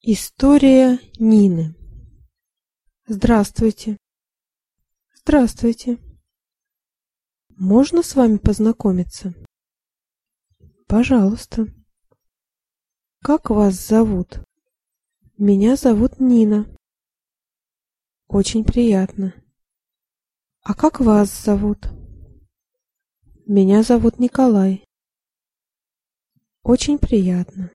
История Нины. Здравствуйте. Здравствуйте. Можно с вами познакомиться? Пожалуйста. Как вас зовут? Меня зовут Нина. Очень приятно. А как вас зовут? Меня зовут Николай. Очень приятно.